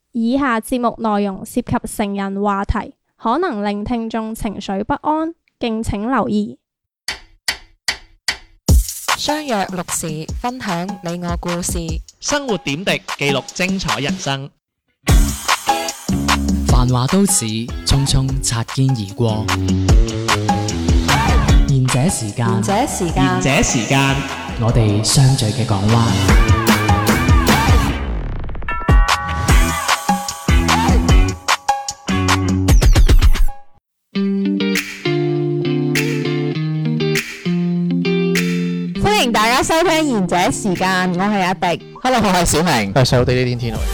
以下節目內容涉及成人話題，可能令聽眾情緒不安，敬請留意。 相約六時，分享你我故事， 生活點滴，記錄精彩人生。 繁華都市，匆匆擦肩而過。賢者時間， 賢者時間， 我哋相聚嘅港灣。 歡迎大家收聽賢者時間，我係阿迪。 Hello， 我係小明。 係細佬地呢天天來。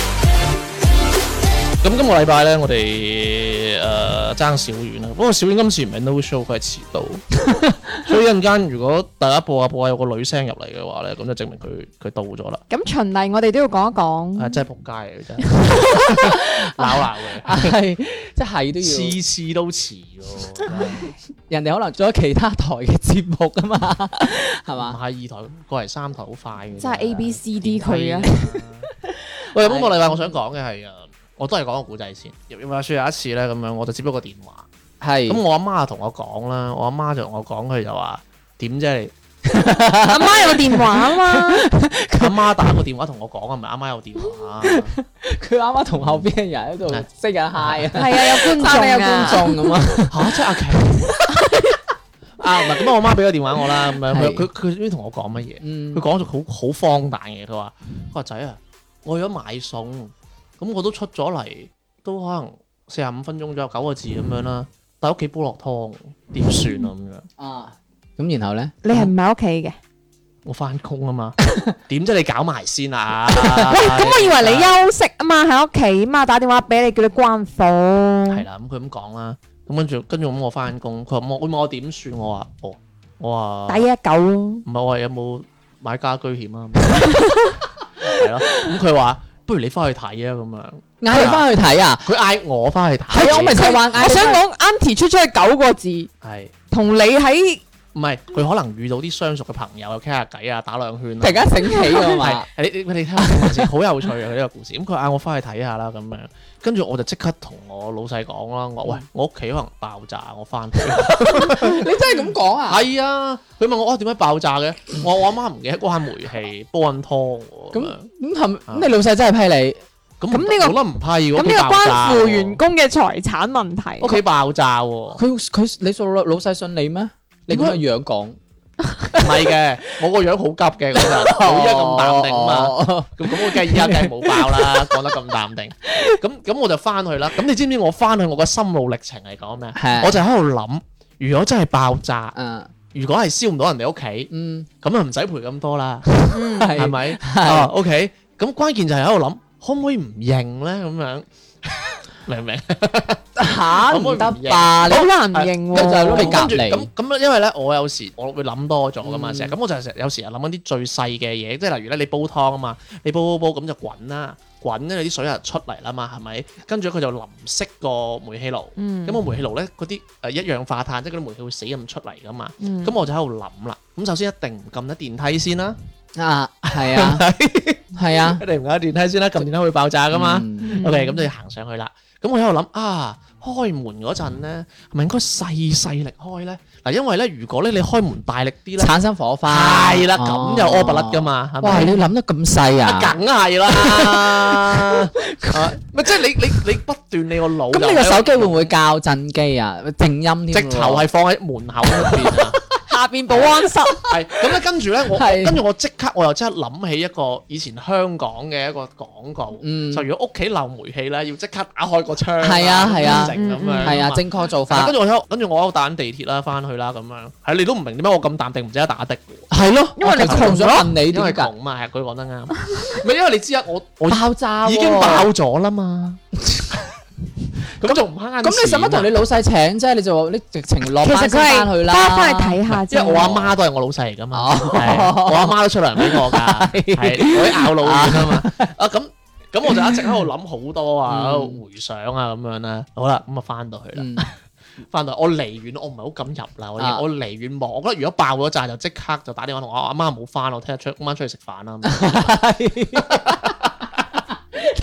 咁今個禮拜咧，我哋爭小遠啦。不過小遠今次唔係 no show，佢係遲到。所以一陣間如果大家播下有個女聲入嚟嘅話咧，咁就證明佢到咗啦。 咁循例我哋都要講一講。 係真係仆街嚟嘅真係，鬧嘅。 係，即係都要。 次次都遲喎。 人哋可能做咗其他台嘅節目啊嘛，係唔嘛？ 係二台過嚟三台好快嘅。 真係 A B C D 佢啊！ 喂，今個禮拜我想講嘅係我都係講個故仔先。話說有一次咧咁樣，我就接咗個電話。 係。 咁我阿媽同我講啦，我阿媽就同我講，佢就話點啫你？ 阿媽有個電話啊嘛， 阿媽打個電話同我講啊，唔係阿媽有電話。 佢啱啱同後邊嘅人喺度識緊 hi 啊， 係啊，有觀眾有觀眾咁啊。 嚇！即係阿琪啊，唔係咁我媽俾個電話我啦，咁樣佢知同我講乜嘢？佢講咗好荒誕嘅，佢話仔啊，我去咗買餸，咁我都出咗嚟，都可能45分鐘左右9個字咁樣啦，但係屋企煲落湯，點算啊咁樣？ 啊，咁然後咧， 你係唔喺屋企嘅？ 我翻工啊嘛，點啫你搞埋先啊？ 喂，咁我以為你休息啊嘛，喺屋企嘛，打電話俾你叫你關火。 係啦，咁佢咁講啦，咁跟住咁我翻工，佢話問我點算，我話打119咯。 唔係，我話有冇買家居險啊？係咯，咁佢話不如你翻去睇啊，咁樣嗌你翻去睇啊？ 佢嗌我翻去睇。 係啊，我咪就話嗌。 我想講 Auntie 出咗去9個字， 係同你喺唔係佢可能遇到啲相熟嘅朋友，又傾下偈啊，打兩圈。 突然間醒起㗎嘛？ 係你聽下故事，好有趣啊！佢呢個故事。咁佢嗌我翻去睇下啦，咁樣跟住我就即刻同我老細講啦，我喂我屋企可能爆炸，我翻去。 你真係咁講啊？ 係啊，佢問我點解爆炸嘅？我阿媽唔記得關煤氣，煲緊湯喎。 咁你老細真係批你？ 咁呢個我覺得唔批喎。 咁呢個關乎員工嘅財產問題。 屋企爆炸喎。 你做老細信你咩？你咁嘅樣講， 唔係嘅，我個樣好急嘅嗰陣，佢依家咁淡定啊嘛。咁我梗係依家梗係冇爆啦，講得咁淡定。咁我就翻去啦。咁你知唔知我翻去我個心路歷程係講咩？我就喺度諗，如果真係爆炸，如果係燒唔到人哋屋企，咁啊唔使賠咁多啦，係咪？OK，咁關鍵就係喺度諗，可唔可以唔認咧？咁樣明唔明？ 嚇唔得吧？你好難認喎，就係攞你隔離。 咁因為咧，我有時我會諗多咗噶嘛，成日咁我就成日有時又諗緊啲最細嘅嘢，即係例如咧，你煲湯啊嘛，你煲咁就滾啦，滾咧你啲水又出嚟啦嘛，係咪？跟住佢就淋熄個煤氣爐，咁個煤氣爐咧嗰啲一氧化碳，即係嗰啲煤氣會死咁出嚟噶嘛，咁我就喺度諗啦。咁首先一定唔撳得電梯先啦， 係啊，係啊， 一定唔撳得電梯先啦，撳電梯會爆炸噶嘛。OK，咁就要行上去啦。咁我喺度諗開門嗰陣咧，係咪應該細力開咧？嗱，因為咧，如果咧你開門大力啲咧， 產生火花， 係啦，咁就屙不甩噶嘛，係咪？ 哇！你諗得咁細啊？ 梗係啦，咪即係你不斷你個腦。 咁你個手機會唔會校震機啊？靜音添， 直頭係放喺門口嗰邊啊！ 下邊保安室係咁咧，跟住咧我即刻我又即刻諗起一個以前香港嘅一個廣告，就如果屋企漏煤氣咧，要即刻打開個窗， 係啊係啊， 咁樣係啊，正確做法。 跟住我喺度打緊地鐵啦，翻去啦咁樣，係你都唔明點解我咁淡定唔值得打的嘅？ 係咯，因為你窮咗，問你因為窮嘛，係佢講得啱。唔係因為你知啊，我爆炸已經爆咗啦嘛。咁仲唔慳？ 咁你使乜同你老細請啫？你就話你直情落班先其實佢係翻去啦， 翻去睇下啫。 因為我阿媽都係我老細嚟噶嘛，我阿媽都出糧俾我㗎，係我啲咬老軟啊嘛。咁我就一直喺度諗好多啊，喺度回想啊咁樣啦。好啦，咁啊翻到去啦，翻到我離遠，我唔係好敢入啦。我離遠望，我覺得如果爆咗炸就即刻就打電話同我阿媽唔好翻，我聽日今晚出去食飯啦。 死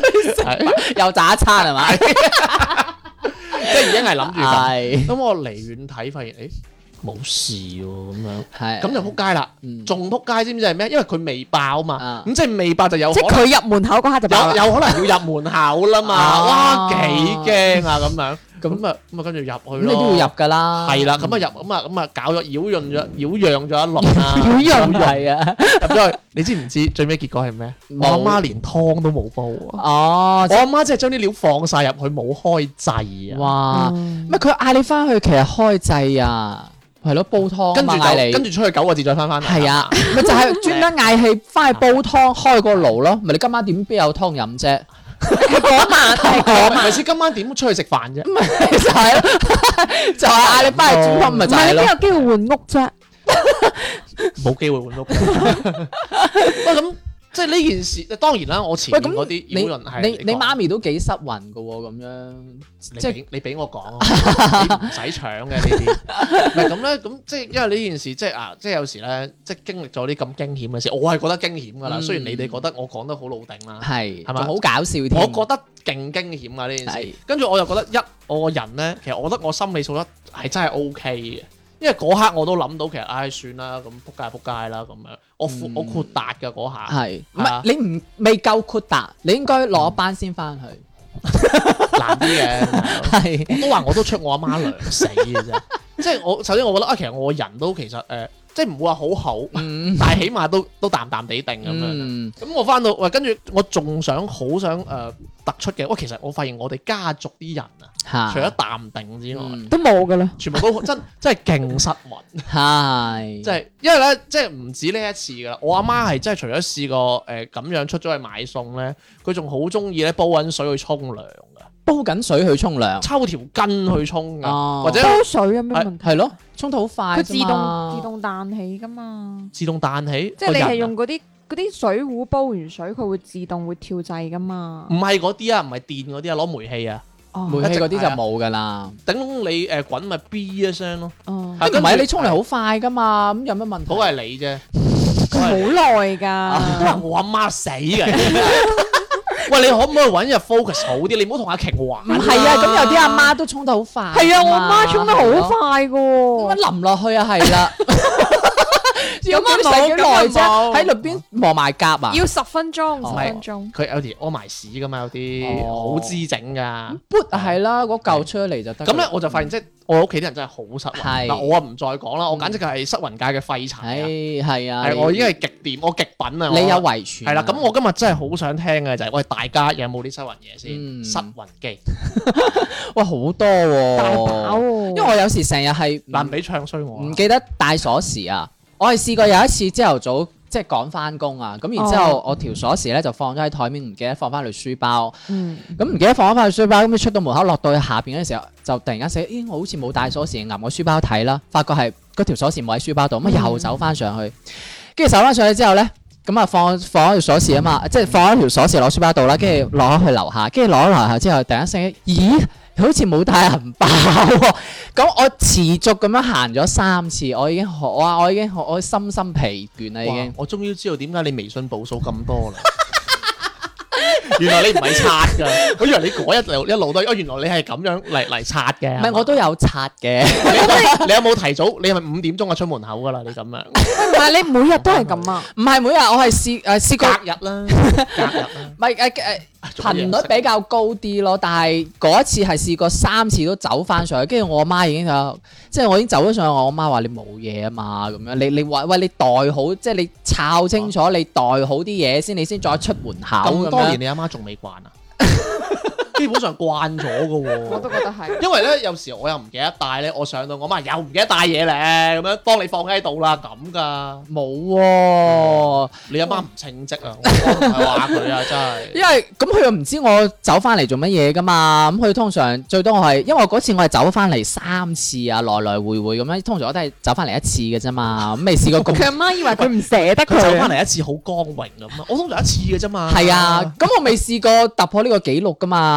又炸一餐係咪？ 即係已經係諗住咁。 係咁我離遠睇發現，誒冇事喎咁樣， 係咁就撲街啦。仲撲街知唔知係咩？因為佢未爆嘛，咁即係未爆就有即係可能佢入門口嗰刻就爆啦。 有可能要入門口啦嘛。哇，幾驚啊咁樣。咁啊跟住入去咯。 咁你都要入㗎啦。 係啦，咁啊入咁啊搞咗擾攘咗一輪啦。 擾攘係啊。 入咗去，你知唔知最尾結果係咩？我阿媽連湯都冇煲啊！ 哦， 我阿媽即係將啲料放晒入去，冇開掣啊！ 哇！咩佢嗌你翻去其實開掣啊，係咯煲湯跟住嗌你， 跟住出去9個字再翻嚟。 係啊，咪就係專登嗌氣翻去煲湯，開個爐咯。咪你今晚點必有湯飲啫？ 嗰晚係嗰晚， 咪先今晚點出去食飯啫？ 就係咯，就係嗌你翻去煮湯，咪唔係你就係咯。 邊有機會換屋啫？ 冇機會換屋。喂，咁即係呢件事，當然啦，我前面嗰啲擾攘係你媽咪都幾失魂㗎喎，咁樣即係你俾我講啊，你唔使搶嘅呢啲。唔係咁咧，咁即係因為呢件事，即係啊，即係有時咧，即係經歷咗啲咁驚險嘅事，我係覺得驚險㗎啦。雖然你哋覺得我講得好老定啦， 係係咪好搞笑添。 我覺得勁驚險啊呢件事係。 跟住我又覺得我個人咧，其實我覺得我心理素質係真係 OK 嘅。因為嗰刻我都諗到，其實唉算啦，咁撲街撲街啦咁樣，我豁達嘅嗰下， 係唔係啊係你未夠豁達，你應該攞班先翻去。 難啲嘅。 係我都話我都出我阿媽糧死嘅啫，即係我首先我覺得啊，其實我個人都其實即係唔會話好好，但係起碼都淡淡地定咁樣。咁我翻到喂，跟住我仲好想突出嘅，喂，其實我發現我哋家族啲人啊，除咗淡定之外， 都冇㗎啦。 全部都真係勁失魂。 係即係因為咧，即係唔止呢一次噶啦。我阿媽係真係除咗試過咁樣出咗去買餸咧，佢仲好中意咧煲滾水去沖涼噶， 煲緊水去沖涼， 抽條筋去沖噶， 哦或者煲水有咩問題？ 係咯，沖得好快佢自啫嘛動彈起㗎嘛。 自動彈起。 即係你係個人啊用嗰啲水壺煲完水，佢會自動會跳掣㗎嘛唔。係嗰啲啊，唔係電嗰啲啊，攞煤氣啊， 哦煤氣嗰啲就冇㗎啦。 頂你滾咪 B 一聲咯。 哦， 係唔係你沖涼好快㗎嘛，咁有乜問題？ 嗰個係你啫， 好耐㗎。 都話我阿媽死嘅。喂，你可唔可以揾日 focus 好啲？你唔好同阿瓊玩。 唔係啊，咁有啲阿媽都沖得好快。 係啊，我媽沖得好快㗎喎。 點解淋落去啊？係啦。 咁啊使幾耐冇啫？喺裏邊磨埋甲啊？ 要10分鐘， 哦 10分鐘。 佢有啲屙埋屎噶嘛，有啲哦好滋整噶。 撥係啦，嗰嚿出嚟就得。 咁咧我就發現即係我屋企啲人真係好失魂。 係嗱，我啊唔再講啦，我簡直係失魂界嘅廢柴啊！ 係啊， 係我已經係極掂，我極品啊！ 你有我遺傳啊。 係啦，咁我今日真係好想聽嘅就係，喂，大家有冇啲失魂嘢先？ 嗯失魂機哇好多喎， 大把喎。 因為我有時成日係難俾唱衰我啊。 唔記得帶鎖匙啊！我係試過有一次朝頭早即係趕翻工啊，咁然之後我條鎖匙咧就放咗喺台面，唔記得放翻去書包。咁唔記得放翻去書包，咁你出到門口落到去下邊嗰陣時候，就突然間醒，咦我好似冇帶鎖匙，揞個書包睇啦，發覺係嗰條鎖匙冇喺書包度，咁又走翻上去，跟住走翻上去之後咧，咁啊放咗條鎖匙啊嘛，即係放咗條鎖匙落書包度啦，跟住攞去樓下，跟住攞咗樓下之後，突然間醒，咦？好似冇帶銀包喎，咁我持續咁樣行咗3次，我已經我深深疲倦啦已經。 我終於知道點解你微信步數咁多啦。原來你唔係刷㗎，我以為你嗰一路都，原來你係咁樣嚟刷嘅。 唔係我都有刷嘅， 你有冇提早？你係咪5點鐘就出門口㗎啦？你咁樣。 唔係你每日都係咁啊？ 唔係每日我係試過隔日啦，隔日啦。 唔係頻率比較高啲咯，但係嗰一次係試過3次都走翻上去，跟住我媽已經就即係我已經走咗上去，我媽話你冇嘢啊嘛咁樣，你話喂你袋好，即係你抄清楚你袋好啲嘢先，你先再出門口咁多年樣。 你阿媽仲未慣啊？基本上慣咗㗎喎。 我都覺得係。 因為咧，有時我又唔記得帶咧，我上到我媽又唔記得帶嘢咧，咁樣幫你放喺度啦，咁噶。 冇喎， 你阿媽唔稱職啊！我唔係話佢啊，真係。 因為咁佢又唔知我走翻嚟做乜嘢噶嘛，咁佢通常最多我係因為嗰次我係走翻嚟3次啊，來來回回咁樣，通常我都係走翻嚟1次嘅啫嘛，咁未試過咁。 佢阿媽以為佢唔捨得佢走佢啊。 翻嚟一次好光榮咁啊！我通常一次嘅啫嘛。 係啊，咁我未試過突破呢個紀錄噶嘛。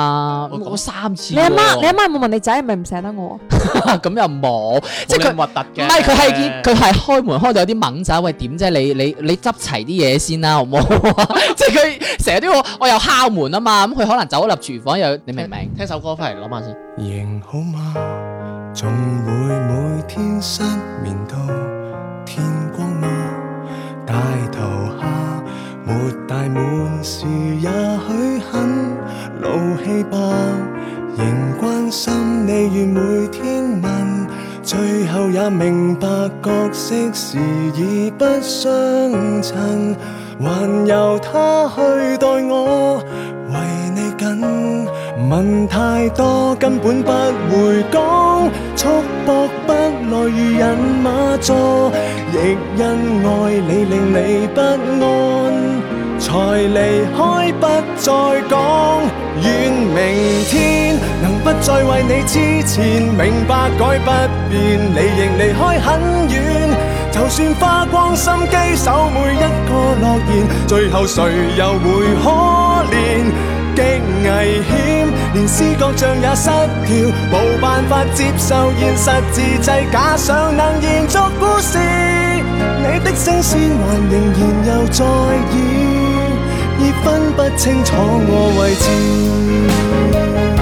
嘛， 咁我3次你阿媽喎。 有冇問你仔係咪唔捨得我？ 咁又冇，即係佢冇咁核突嘅。 唔係佢係開門開到有啲猛仔，喂點啫？你執齊啲嘢先啦，好唔好？即係佢成日都要我又敲門啊嘛，咁佢可能走咗入廚房又你明唔明？ 聽首歌翻嚟諗下先。 仍好嗎？總會每天失眠到天光嗎？大頭蝦沒大滿時，也許很怒氣吧。仍關心你，願每天問，最後也明白角色時已不相襯，還由他去待我為你緊。問太多根本不會講，束縛不來如人馬座，亦因愛你令你不安，才離開不再講。願明天能不再為你之前明白改不變，你仍離開很遠，就算花光心機守每一個諾言，最後誰又會可憐？極危險，連思覺像也失調，無辦法接受現實，自製假想能延續故事。你的聲線還仍然又在演，已分不清楚我位置。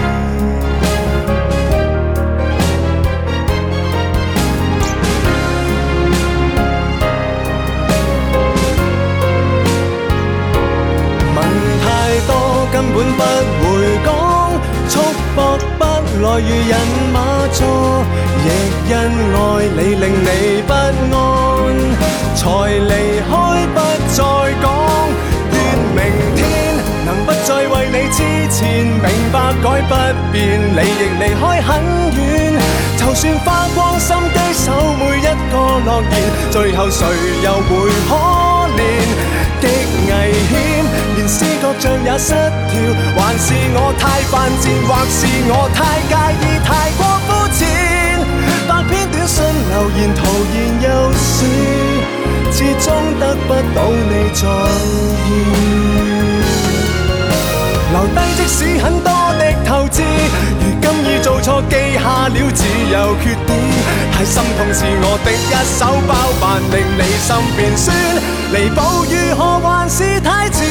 根本不會講，束縛不來如人馬座，亦因愛你令你不安，才離開不再講。願明天能不再為你之前明白改不變，你亦離開很遠，就算花光心機守每一個諾言，最後誰又會可憐？極危險，連思覺像也失調，還是我太犯賤，或是我太介意，太過膚淺。百篇短信留言徒然又是，始終得不到你在意。留低即使很多的透支，如今已做錯記下了，只有缺點。太心痛是我的一手包辦，令你心變酸，彌補如何還是太遲。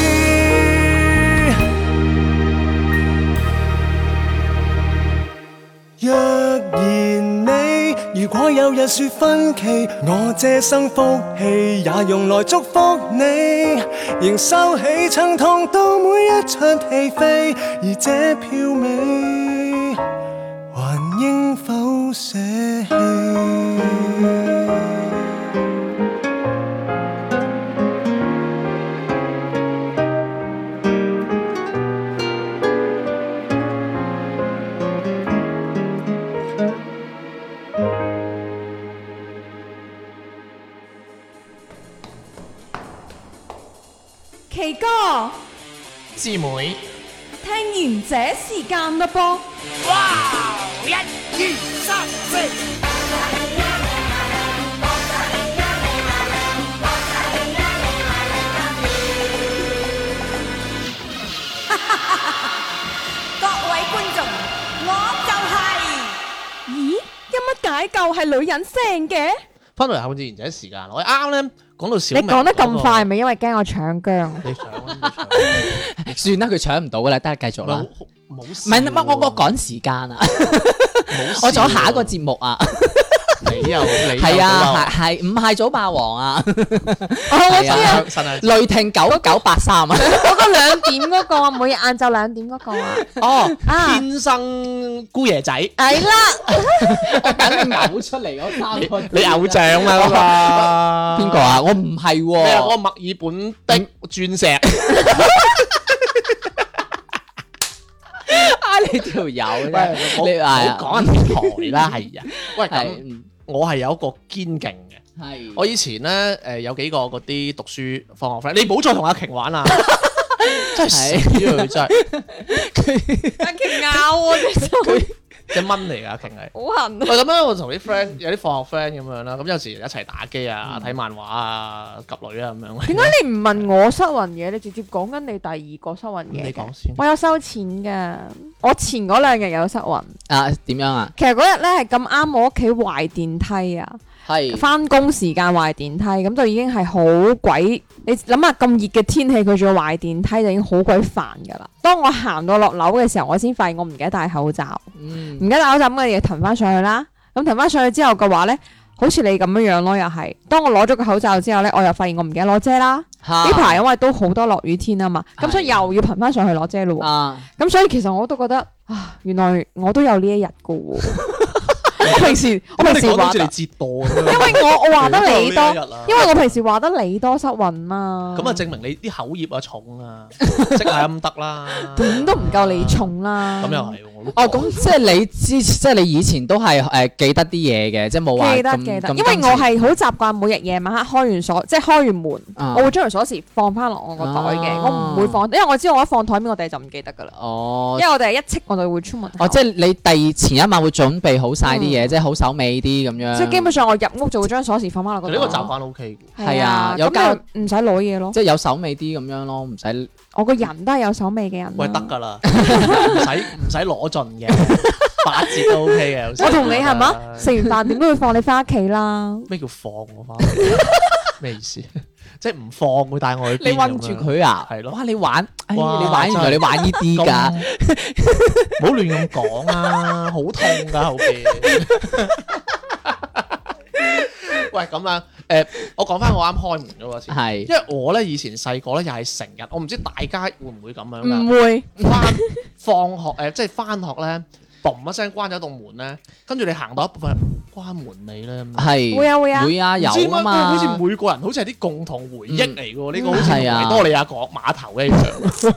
若然你如果有日說分歧，我這生福氣也用來祝福你，仍收起曾痛到每一場戲飛，而這票尾還應否捨棄？ 奇哥， 師妹， 聽完這時間嘞噃。 各位觀眾，我就係。 咦，有乜解救係女人聲嘅？ 翻嚟後自然就係時間。我啱咧講到小你明講得咁快，係嗰咪因為驚我搶姜？ 個，你搶啊！你搶算啦，佢搶唔到噶啦，得繼續啦。 冇唔係乜，我趕時間啊，我仲有下一個節目啊。 你又係啊，係唔係早霸王啊？ 我知啊， 雷霆9983啊！ 嗰個2點嗰個啊，每日晏晝2點嗰個啊。 哦， 啊天生姑爺仔， 係啦， 我等你嘔出嚟嗰3個字。 你偶像啊嗰個邊個啊？我唔係咩啊？嗰喎。 個墨爾本的鑽石。 你條友喂， 啫， 我你係啊講人台啦，係啊。喂，咁係我係有一個堅勁嘅。 係我以前咧有幾個嗰啲讀書放學 friend，你唔好再同阿瓊玩啦，真係死啊！佢真係阿瓊咬我隻手。 隻蚊嚟㗎，瓊係。 好痕啊！ 喂，咁樣我同啲 friend 有啲放學 friend 咁樣啦，咁有時一齊打機啊、睇漫畫啊、及女啊咁樣。 點解你唔問我失魂嘢？你直接講緊你第二個失魂嘢嘅。 你講先。 我有收錢㗎，我前嗰2日有失魂。 啊，點樣啊？ 其實嗰日咧係咁啱我屋企壞電梯啊， 係翻工時間壞電梯，咁就已經係好鬼。你諗下咁熱嘅天氣，佢仲要壞電梯，就已經好鬼煩㗎啦。當我行到落樓嘅時候，我先發現我唔記得戴口罩，唔記得戴口罩咁嘅嘢騰翻上去啦。咁騰翻上去之後嘅話咧，好似你咁樣樣咯，又係。當我攞咗個口罩之後咧，我又發現我唔記得攞遮啦。呢排因為都好多落雨天啊嘛，咁所以又要騰翻上去攞遮咯喎。 啊， 咁所以其實我都覺得啊，原來我都有呢一日㗎喎。我平時話得， 你折墮咁樣。 因為我話得你多， 因因為我平時話得你多失魂嘛。 咁啊，證明你啲口業啊重啊，即係咁得啦。 點都唔夠你重啦。 咁又係喎，我都哦，咁即係你以前都係記得啲嘢嘅，即係冇話記得，因為我係好習慣每日夜晚黑開完鎖，即係開完門，我會將條鎖匙放翻落我個袋嘅，我唔會放，因為我知道我一放台面，我哋就唔記得噶啦。 哦， 因為我哋係一戚我就會出門口。 哦，即係你前一晚會準備好晒啲嘢，即係好手尾啲咁樣。 即係基本上我入屋就會將鎖匙放翻落個袋。 呢個習慣 OK 嘅。 係啊，有咁唔使攞嘢咯。 即係有手尾啲咁樣咯，唔使。 我個人都係有手尾嘅人。 喂，得㗎啦，唔使攞盡嘅，8折都 OK 嘅。 我同你係嘛？食完飯點都會放你翻屋企啦。 咩叫放我翻屋企？咩意思？即係唔放會帶我去邊？ 你韞住佢啊？ 係咯。 哇！你玩，你哇玩原來你玩呢啲㗎， 唔好亂咁講啊！好痛㗎後邊。喂，咁樣我講翻我啱開門嗰個先， 係因為我咧以前細個咧又係成日，我唔知大家會唔會咁樣㗎？ 唔會。 放學即係翻學咧，嘣一聲關咗棟門咧，跟住你行到一部分關門尾咧， 係會啊會啊有唔知點解啊嘛， 好似每個人好似係啲共同回憶嚟嘅喎，呢個好似係啊維多利亞港碼頭一樣。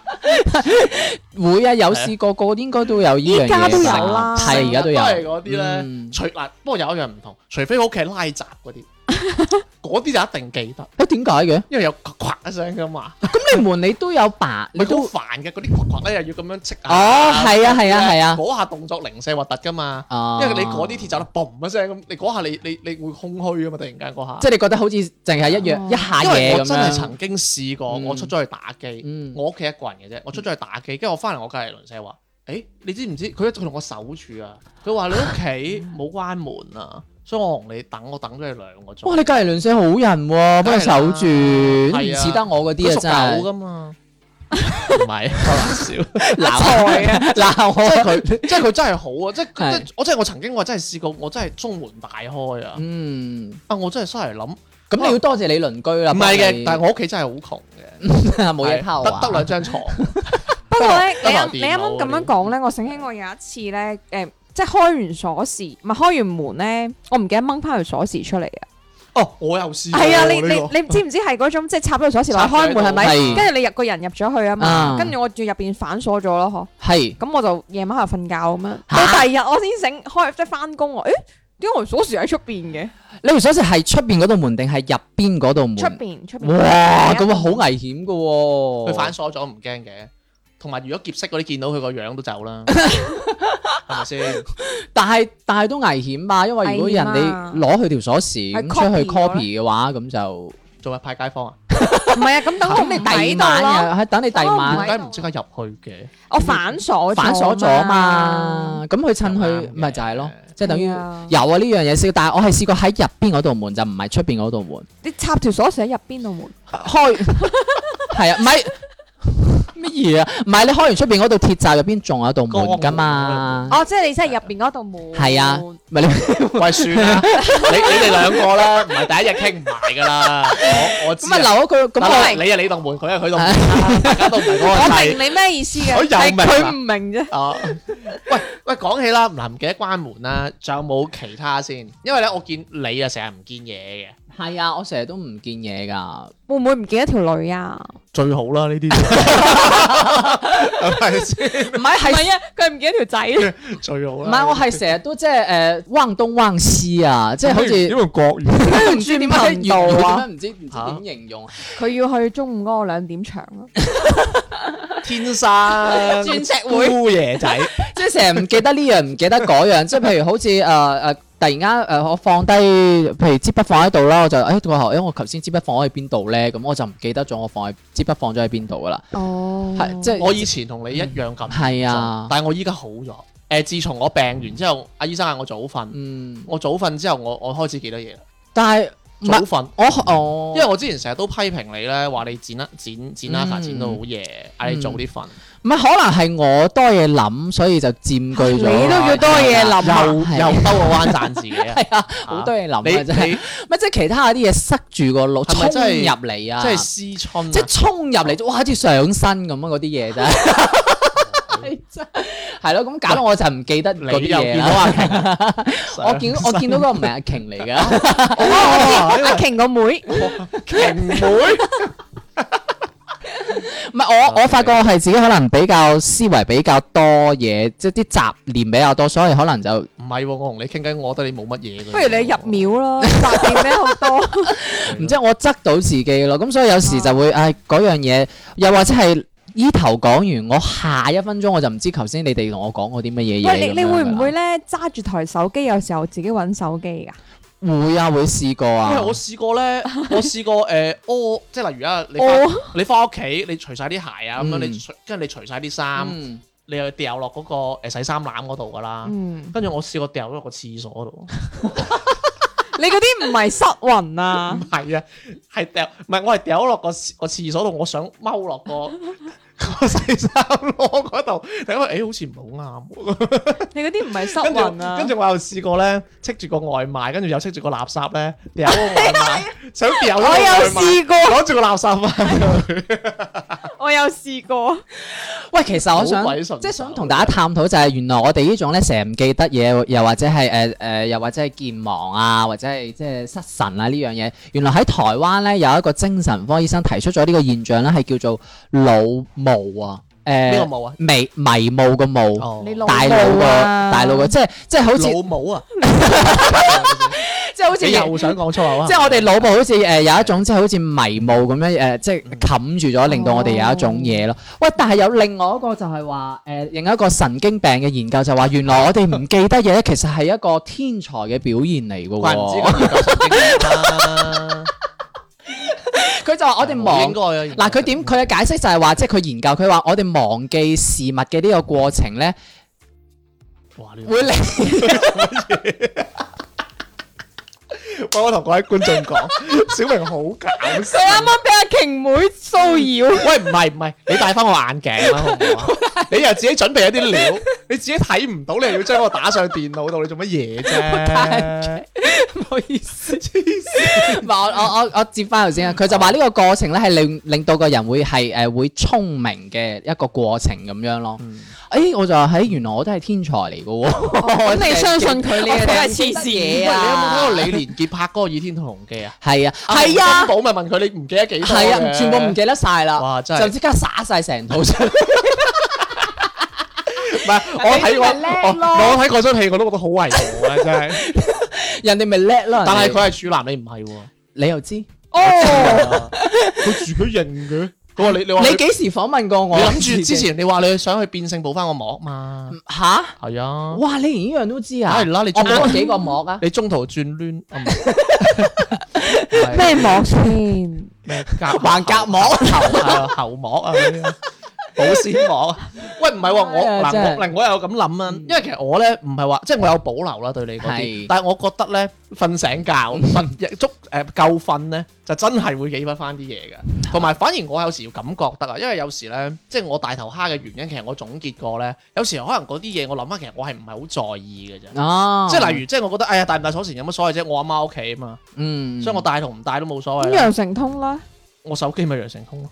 會啊，有試過個應該都有呢樣嘢。 依家都有啦係而家都有。 都係嗰啲咧， 嗯除嗱，不過有一樣唔同，除非我屋企係拉閘嗰啲，嗰啲就一定記得， 點解嘅？ 因為有咵一聲噶嘛。 咁你門你都有白，你你好都煩嘅，嗰啲咵咧又要咁樣戚下。 哦係啊係啊係啊嗰下動作零舍核突噶嘛， 哦因為你嗰啲鐵閘咧嘣一聲咁，你嗰下你會空虛噶嘛，突然間嗰下。 即係你覺得好似淨係一下因為嘢咁我真係樣。 曾經試過，我出咗去打機，我屋企一個人嘅啫，我出咗去打機，跟住我翻嚟我隔離鄰舍話：，誒，你知唔知？佢同我守住啊！佢話你屋企冇關門啊，所以我同你等，我等咗你2個鐘。 哇！你隔離鄰舍好人喎，幫佢守住，唔似得我嗰啲啊真佢屬狗係。 噶嘛？唔係開玩笑， 鬧啊！鬧我。 即係佢真係好啊！即係我曾經我真係試過，我真係中門大開啊！我真係出嚟諗， 咁你要多謝你鄰居啦。 唔係嘅，但係我屋企真係好窮嘅， 冇嘢偷啊， 得2張床。 不過咧， 得你啱啱咁樣講咧，我醒起我有一次咧，即係開完鎖匙，唔係開完門咧，我唔記得掹翻條鎖匙出嚟啊！ 哦，我又試過。 係啊，你知唔知係嗰種即係插咗條鎖匙落去開門係咪？ 係跟住你入個人入咗去啊嘛，跟住我住入邊反鎖咗咯，嗬。 係。 咁我就夜晚喺度瞓覺咁樣，到第二日我先醒開即係翻工喎，誒點解我鎖匙喺出邊嘅？ 你條鎖匙係出邊嗰道門定係入邊嗰道門？ 出邊。 哇！咁啊好危險噶喎。 佢反鎖咗唔驚嘅，同埋如果劫色嗰啲見到佢個樣都走啦，係咪先？ 但係都危險吧，因為如果人哋攞佢條鎖匙咁出去 copy 嘅話，咁就做咩派街坊啊？ 唔係啊，咁等我你第二晚啊，係等你第二晚。 點解唔即刻入去嘅？ 我反鎖咗嘛，咁佢趁佢咪就係咯，即係等於有啊呢樣嘢試，但係我係試過喺入邊嗰道門，就唔係出邊嗰道門。 你插條鎖匙喺入邊道門開，係啊，唔係。乜嘢啊？唔係你開完出邊嗰道鐵閘入邊仲有道門噶嘛？ 哦，即係你真係入邊嗰道門。 係啊，唔係你喂算啦，你哋兩個啦，唔係第一日傾唔埋噶啦。我知。咁啊留咗佢，咁你係你道門，佢係佢道門，大家都唔係嗰個。 我明你咩意思嘅，係佢唔明啫。 哦，喂，講起啦，唔記得關門啦，仲有冇其他先？因為咧，我見你啊成日唔見嘢嘅。 係啊，我成日都唔見嘢㗎。 會唔會唔見一條女啊？ 最好啦呢啲， 係咪先？ 唔係係啊，佢唔記得條仔。 最好啦。 唔係我係成日都即係忘東忘西啊，即係好似點用國語？ 唔知點解頻道啊唔知點形容。 佢要去中午嗰個2點場咯。 天生鑽石會姑爺仔， 即係成日唔記得呢樣唔記得嗰樣，即係譬如好似突然間我放低，譬如支筆放喺度啦，我就我頭先支筆放喺邊度咧，咁我就唔記得咗我支筆放咗喺邊度噶啦。 哦， 係即係我以前同你一樣咁， 係啊， 但係我依家好咗。自從我病完之後，阿醫生嗌我早瞓，我早瞓之後，我開始記得嘢啦。 但係早瞓，因為我我之前成日都批評你咧，話你剪 Nava 剪到好夜，嗌你早啲瞓。 唔係可能係我多嘢諗，所以就佔據咗。 你都要多嘢諗， 又兜個彎讚自己啊！ 係啊，好多嘢諗啊，真係。 你乜即係其他啲嘢塞住個腦，衝入嚟啊！ 即係思春， 即係衝入嚟，哇！好似上身咁啊！嗰啲嘢真係。係咯，咁搞到我就唔記得嗰啲嘢啦。我見到嗰個唔係阿瓊嚟㗎， 阿瓊個妹， 瓊妹。 唔係我發覺我係自己可能比較思維比較多嘢，即係啲雜念比較多，所以可能就唔係喎。我同你傾偈，我覺得你冇乜嘢嘅。 不如你入廟咯，雜念咩好多。 唔知我側到自己咯，咁所以有時就會嗰樣嘢，又或者係依頭講完，我下一分鐘我就唔知頭先你哋同我講過啲乜嘢嘢。 喂，你會唔會咧揸住台手機，有時候自己揾手機㗎？ 會啊，會試過啊。 因為我試過咧，即係例如啊，你翻屋企，你除晒啲鞋啊，咁樣跟住你除晒啲衫，你又掉落嗰個洗衫籃嗰度噶啦。跟住我試過掉咗落個廁所度。 你嗰啲唔係失魂啊？ 唔係啊，我係掉咗落個廁所度，我想踎落個洗衫籮嗰度，因為好似唔係好啱。 你嗰啲唔係失魂啊？ 跟住我又試過咧，戚住個外賣，跟住又戚住個垃圾咧，掉個外賣，想掉咗個外賣。 我有試過攞住個垃圾翻去。 我有試過。 喂，其實我想好鬼順手即係想同大家探討就係原來我哋呢種咧成日唔記得嘢，又或者係又或者係健忘啊，或者係即係失神啊呢樣嘢，原來喺台灣咧有一個精神科醫生提出咗呢個現象咧，係叫做腦霧啊。 咩個霧啊？ 迷霧個霧， 你大腦個，即係好似老母啊！ 即係好似你又想講粗口啊？ 即係我哋腦部好似有一種即係好似迷霧咁樣即係冚住咗，令到我哋有一種嘢咯。喂，但係有另外一個就係話另一個神經病嘅研究就話，原來我哋唔記得嘢咧，其實係一個天才嘅表現嚟嘅喎。 怪唔知咁研究神經病啦。 佢就話我哋忘應該啊。 嗱，佢嘅解釋就係話，即係佢研究佢話我哋忘記事物嘅呢個過程咧，會令我同各位觀眾講，小明好搞笑。 你啱啱俾阿瓊妹騷擾。 喂，唔係，你戴翻個眼鏡啦，好唔好啊？你又自己準備一啲料，你自己睇唔到，你又要將我打上電腦度，你做乜嘢啫？ 唔好意思，黐線。唔係我接翻頭先啊，佢就話呢個過程咧係令到個人會係會聰明嘅一個過程咁樣咯。我就話原來我都係天才嚟嘅喎。 咁你相信佢呢個都係黐線你有冇睇過李連杰拍嗰個《倚天屠龍記》啊？ 係啊， 係啊。金寶咪問佢你唔記得幾多？ 係啊，全部唔記得晒啦。 哇！真係就即刻灑晒成套出嚟。 唔係，我睇嗰出戲我都覺得好為我啊！真係。 人哋咪叻咯。 但係佢係處男，你唔係喎。 你又知？ 佢住佢認嘅。佢話你話你幾時訪問過我？ 你諗住之前你話你想去變性補翻個膜嘛？ 吓？ 係啊！ 哇！你連呢樣都知啊？ 係啦，你我補過幾個膜啊？ 你中途轉攣咩膜先？ 咩橫膈膜、 喉膜啊嗰啲保鮮膜。喂，唔係喎，我又咁諗啊，因為其實我咧唔係話即係我有保留啦對你嗰啲，但係我覺得咧瞓醒覺夠瞓咧就真係會記得翻啲嘢嘅，同埋反而我有時要咁覺得啊，因為有時咧即係我大頭蝦嘅原因，其實我總結過咧，有時可能嗰啲嘢我諗翻，其實我係唔係好在意嘅啫。哦，即係例如即係我覺得哎呀帶唔帶鎖匙有乜所謂啫？我阿媽屋企啊嘛，所以我帶同唔帶都冇所謂。 咁羊城通啦， 我手機咪羊城通咯。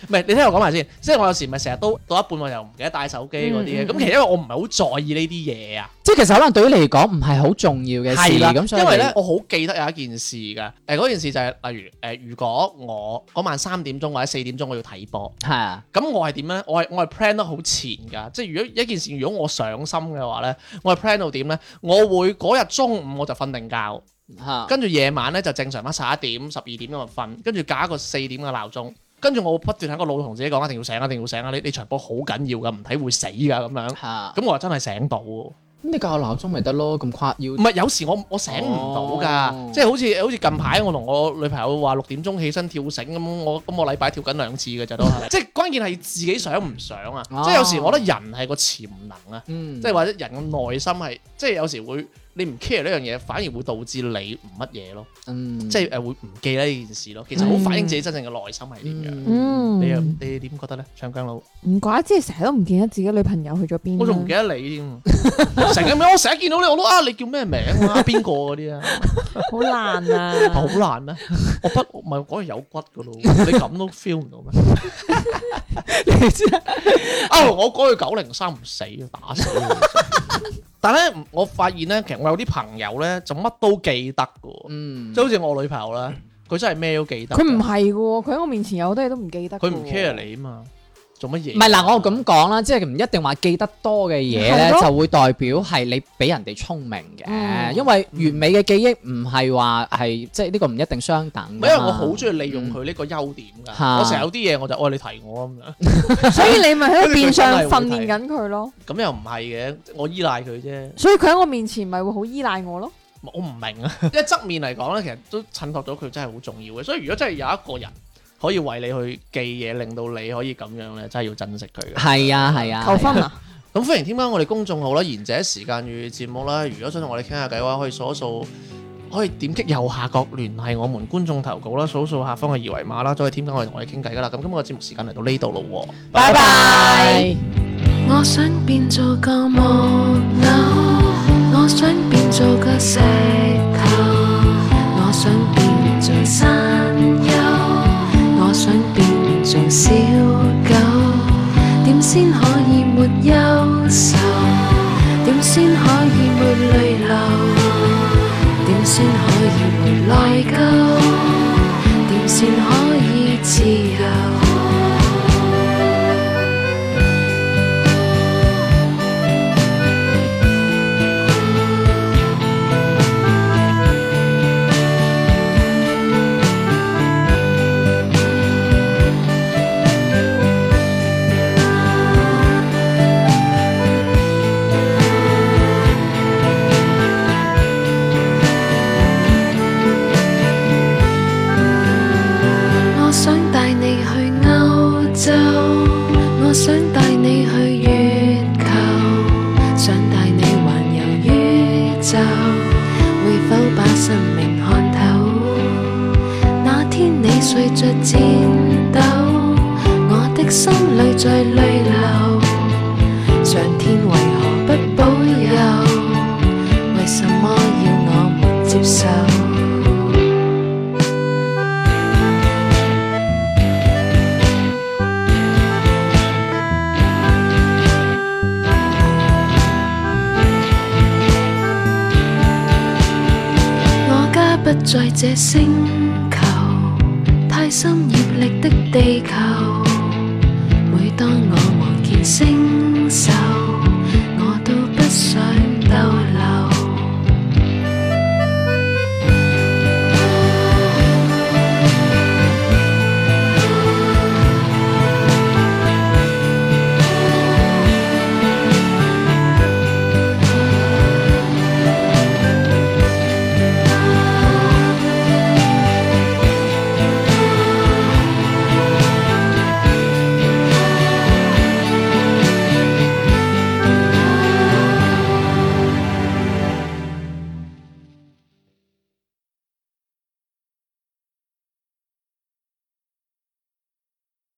唔係你聽我講埋先，即係我有時咪成日都到一半我又唔記得帶手機嗰啲嘅，咁其實因為我唔係好在意呢啲嘢啊。 即係其實可能對於你嚟講唔係好重要嘅事， 係啦， 咁所以因為咧我好記得有一件事㗎，嗰件事就係例如如果我嗰晚3點鐘或者4點鐘我要睇波， 係啊， 咁我係點咧？我係 plan 得好前㗎，即係如果一件事如果我上心嘅話咧，我係 plan 到點咧？我會嗰日中午我就瞓定覺。跟住夜晚咧就正常翻11點、12點咁就瞓，跟住加一個4點嘅鬧鐘，跟住我會不斷喺個腦同自己講一定要醒，一定要醒啊！你場波好緊要噶，唔睇會死噶咁樣。咁我真係醒到。 咁你校鬧鐘咪得咯，咁誇要？ 唔係有時我醒唔到㗎，即係好似近排我同我女朋友話6點鐘起身跳繩咁，我禮拜跳緊2次嘅咋都係。即係關鍵係自己想唔想啊！即係有時我覺得人係個潛能啊，即係或者人嘅內心係，即係有時會。你唔 care 呢樣嘢，反而會導致你唔乜嘢咯，即係會唔記得呢件事咯。其實好反映自己真正嘅內心係點樣。你點覺得咧？長頸佬唔怪之成日都唔記得自己女朋友去咗邊。 我仲唔記得你添，成日我成日見到你我都你叫咩名啊？邊個嗰啲啊？ 好難啊！ 好難咩？我不唔係講係有骨噶咯，你咁都 feel 唔到咩？你知我講佢903唔死啊，打死但係咧，我發現咧，其實我有啲朋友咧，就乜都記得嘅，即係好似我女朋友咧，佢真係咩都記得。 佢唔係嘅喎，佢喺我面前有好多嘢都唔記得。 佢唔 care 你啊嘛，做乜嘢？ 唔係嗱，我咁講啦，即係唔一定話記得多嘅嘢咧，就會代表係你比人哋聰明嘅，因為完美嘅記憶唔係話係即係呢個唔一定相等。 因為我好中意利用佢呢個優點㗎，我成日有啲嘢我就你提我咁樣， 所以你咪喺度變相訓練緊佢咯。 咁又唔係嘅，我依賴佢啫。 所以佢喺我面前咪會好依賴我咯。 我唔明啊，因為側面嚟講咧，其實都襯托咗佢真係好重要嘅。所以如果真係有一個人可以為你去記嘢，令到你可以咁樣咧，真係要珍惜佢嘅。 係啊係啊， 求婚啊！ 咁歡迎添加我哋公眾號啦，賢者時間與節目啦。如果想同我哋傾下偈嘅話，可以掃一掃，可以點擊右下角聯繫我們觀眾投稿啦，掃掃下方嘅二維碼啦，就可以添加我哋同我哋傾偈噶啦。咁今日嘅節目時間嚟到呢度咯喎， 拜拜。 我想變做個木偶，我想變做個石頭，我想變做山丘，我想變做小狗，點先可以沒憂愁？點先可以沒淚流？點先可以沒內疚？點先可以自由？我想帶你去月球，想帶你環遊宇宙，會否把生命看透？那天你睡着顫抖，我的心裏在淚流，上天為何不保佑？為什麼要我們接受？不在這星球，太深業力的地球。每當我望見星